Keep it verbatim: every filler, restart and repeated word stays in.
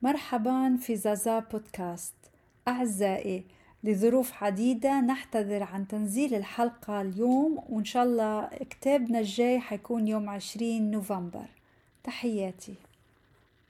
مرحبا في زازا بودكاست. أعزائي، لظروف عديدة نحتذر عن تنزيل الحلقة اليوم، وإن شاء الله كتابنا الجاي حيكون يوم عشرين نوفمبر. تحياتي.